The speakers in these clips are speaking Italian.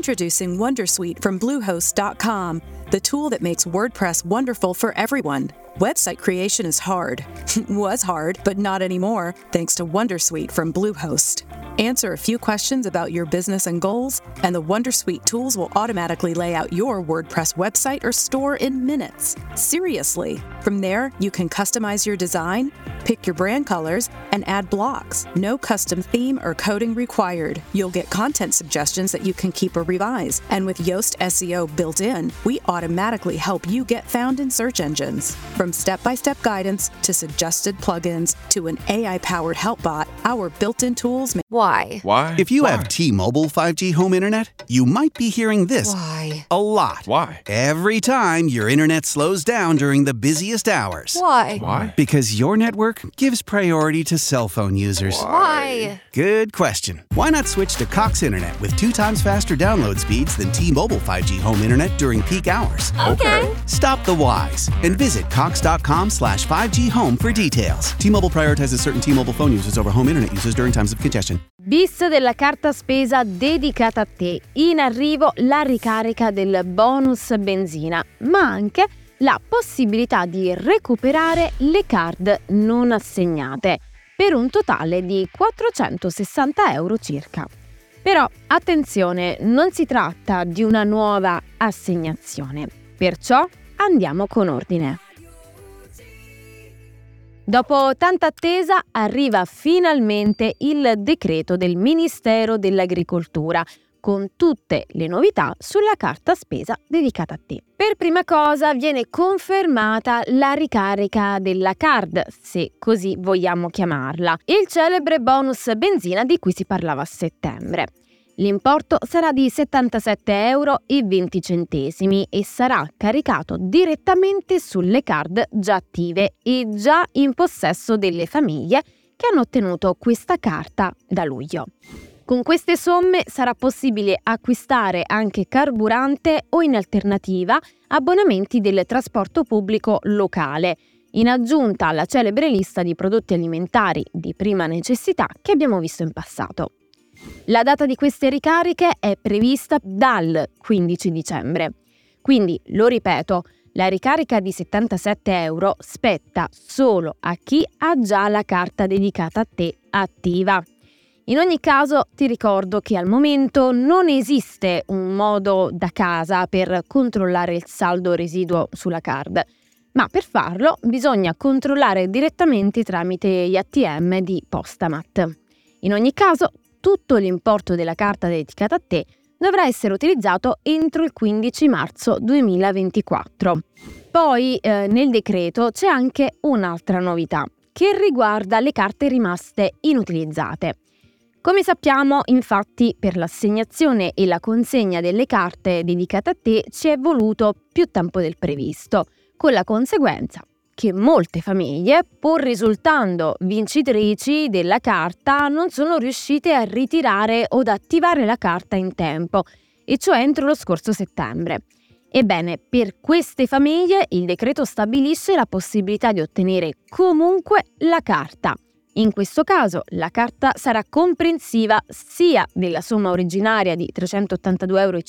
Introducing Wondersuite from Bluehost.com, the tool that makes WordPress wonderful for everyone. Website creation is hard. Was hard, but not anymore, thanks to Wondersuite from Bluehost. Answer a few questions about your business and goals, and the Wondersuite tools will automatically lay out your WordPress website or store in minutes. Seriously. From there, you can customize your design, pick your brand colors, and add blocks. No custom theme or coding required. You'll get content suggestions that you can keep or revise. And with Yoast SEO built in, we automatically help you get found in search engines. From step-by-step guidance to suggested plugins to an AI-powered help bot, our built-in tools make... Why? If you have T-Mobile 5G home internet, you might be hearing this Why? a lot. Why? Every time your internet slows down during the busiest hours. Why? Because your network gives priority to cell phone users. Why? Good question. Why not switch to Cox Internet with 2 times faster download speeds than T-Mobile 5G home internet during peak hours? Okay. Stop the whys and visit cox.com/5G home for details. T-Mobile prioritizes certain T-Mobile phone users over home internet users during times of congestion. Bis della carta spesa dedicata a te. In arrivo la ricarica del bonus benzina, ma anche la possibilità di recuperare le card non assegnate, per un totale di 460 euro circa. Però attenzione, non si tratta di una nuova assegnazione, perciò andiamo con ordine. Dopo tanta attesa arriva finalmente il decreto del Ministero dell'Agricoltura con tutte le novità sulla carta spesa dedicata a te. Per prima cosa viene confermata la ricarica della card, se così vogliamo chiamarla, il celebre bonus benzina di cui si parlava a settembre. L'importo sarà di 77,20 euro e sarà caricato direttamente sulle card già attive e già in possesso delle famiglie che hanno ottenuto questa carta da luglio. Con queste somme sarà possibile acquistare anche carburante o, in alternativa, abbonamenti del trasporto pubblico locale, in aggiunta alla celebre lista di prodotti alimentari di prima necessità che abbiamo visto in passato. La data di queste ricariche è prevista dal 15 dicembre. Quindi, lo ripeto, la ricarica di 77 euro spetta solo a chi ha già la carta dedicata a te attiva. In ogni caso, ti ricordo che al momento non esiste un modo da casa per controllare il saldo residuo sulla card, ma per farlo bisogna controllare direttamente tramite gli ATM di Postamat. In ogni caso, tutto l'importo della carta dedicata a te dovrà essere utilizzato entro il 15 marzo 2024. Poi nel decreto c'è anche un'altra novità che riguarda le carte rimaste inutilizzate. Come sappiamo, infatti, per l'assegnazione e la consegna delle carte dedicate a te ci è voluto più tempo del previsto, con la conseguenza che molte famiglie, pur risultando vincitrici della carta, non sono riuscite a ritirare o ad attivare la carta in tempo, e cioè entro lo scorso settembre. Ebbene, per queste famiglie il decreto stabilisce la possibilità di ottenere comunque la carta. In questo caso la carta sarà comprensiva sia della somma originaria di 382,50 euro,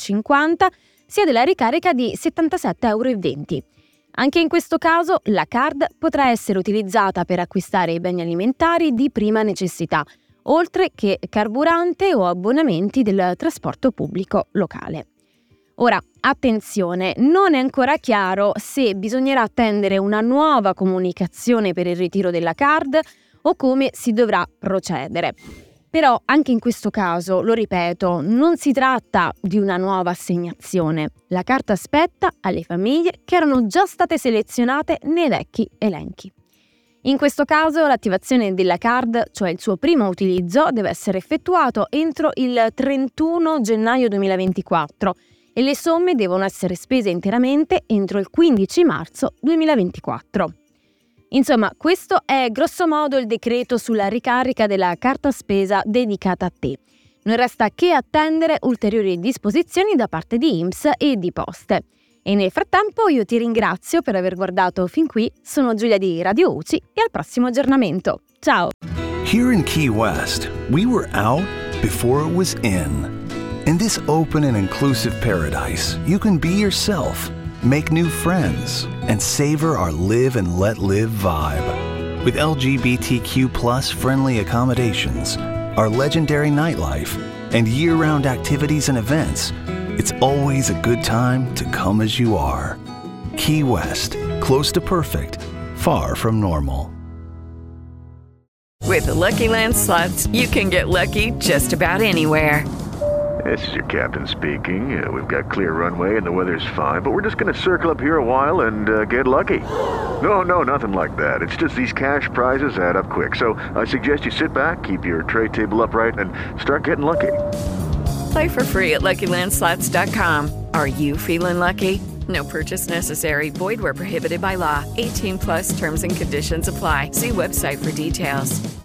sia della ricarica di 77,20 euro. Anche in questo caso la card potrà essere utilizzata per acquistare i beni alimentari di prima necessità, oltre che carburante o abbonamenti del trasporto pubblico locale. Ora, attenzione, non è ancora chiaro se bisognerà attendere una nuova comunicazione per il ritiro della card o come si dovrà procedere. Però anche in questo caso, lo ripeto, non si tratta di una nuova assegnazione. La carta spetta alle famiglie che erano già state selezionate nei vecchi elenchi. In questo caso l'attivazione della card, cioè il suo primo utilizzo, deve essere effettuato entro il 31 gennaio 2024 e le somme devono essere spese interamente entro il 15 marzo 2024. Insomma, questo è grosso modo il decreto sulla ricarica della carta spesa dedicata a te. Non resta che attendere ulteriori disposizioni da parte di INPS e di Poste. E nel frattempo io ti ringrazio per aver guardato fin qui, sono Giulia di Radio UCI e al prossimo aggiornamento. Ciao! Here in Key West, we were out before it was in. In this open and inclusive paradise, you can be yourself, make new friends, and savor our live and let live vibe. With LGBTQ+ friendly accommodations, our legendary nightlife, and year-round activities and events, it's always a good time to come as you are. Key West, close to perfect, far from normal. With the Lucky Land Slots, you can get lucky just about anywhere. This is your captain speaking. We've got clear runway and the weather's fine, but we're just going to circle up here a while and get lucky. No, nothing like that. It's just these cash prizes add up quick. So I suggest you sit back, keep your tray table upright, and start getting lucky. Play for free at LuckyLandSlots.com. Are you feeling lucky? No purchase necessary. Void where prohibited by law. 18+ terms and conditions apply. See website for details.